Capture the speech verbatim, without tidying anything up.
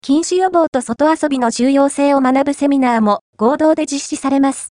禁止予防と外遊びの重要性を学ぶセミナーも合同で実施されます。